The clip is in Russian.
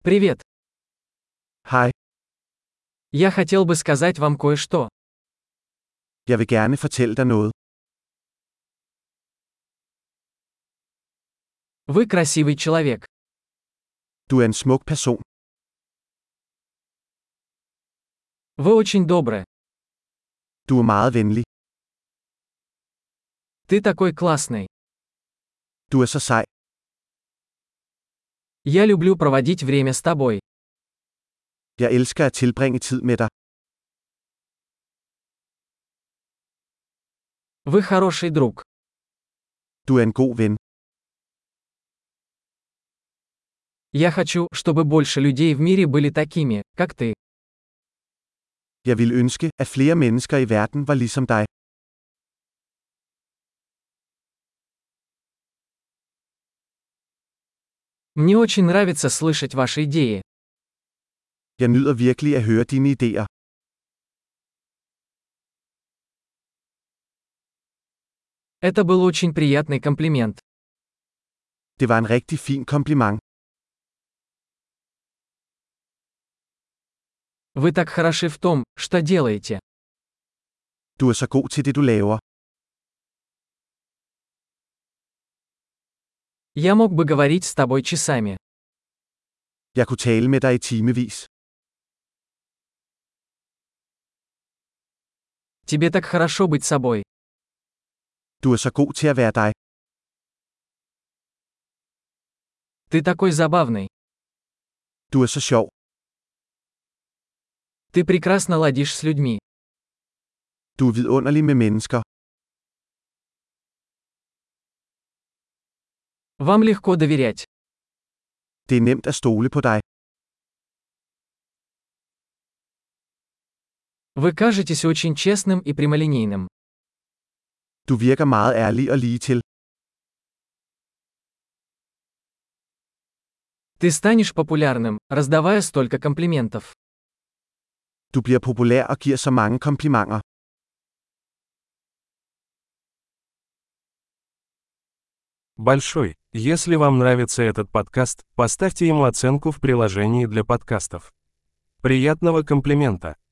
Привет. Hej, Я хотел бы сказать вам кое-что. jeg vil gerne fortælle dig noget. Вы красивый человек. Du er en smuk person. Вы очень добры. Du er meget venlig. Ты такой классный. Du er så sej. Я люблю проводить время с тобой. Jeg elsker at tilbringe tid med dig. Вы хороший друг. Du er en god ven. Я хочу, чтобы больше людей в мире были такими, как ты. Jeg ville ønske, at flere mennesker i verden var ligesom dig. Мне очень нравится слышать ваши идеи. Jeg nyder virkelig at høre dine idéer. Это был очень приятный комплимент. Det var en rigtig fin kompliment. Вы так хороши в том, что делаете. Du er så god til det, du laver. Я мог бы говорить с тобой часами. Jeg kunne tale med dig i timevis. Тебе так хорошо быть собой. Du er så god til at være dig. Ты такой забавный. Du er så sjov. Ты прекрасно ладишь с людьми. Du er vidunderlig med mennesker. Вам легко доверять. Det er nemt at stole på dig. Вы кажетесь очень честным и прямолинейным. Du virker meget ærlig og ligetil. Ты станешь популярным, раздавая столько комплиментов. Du bliver populær og giver så mange komplimenter. Большой. Если вам нравится этот подкаст, поставьте ему оценку в приложении для подкастов. Приятного комплимента!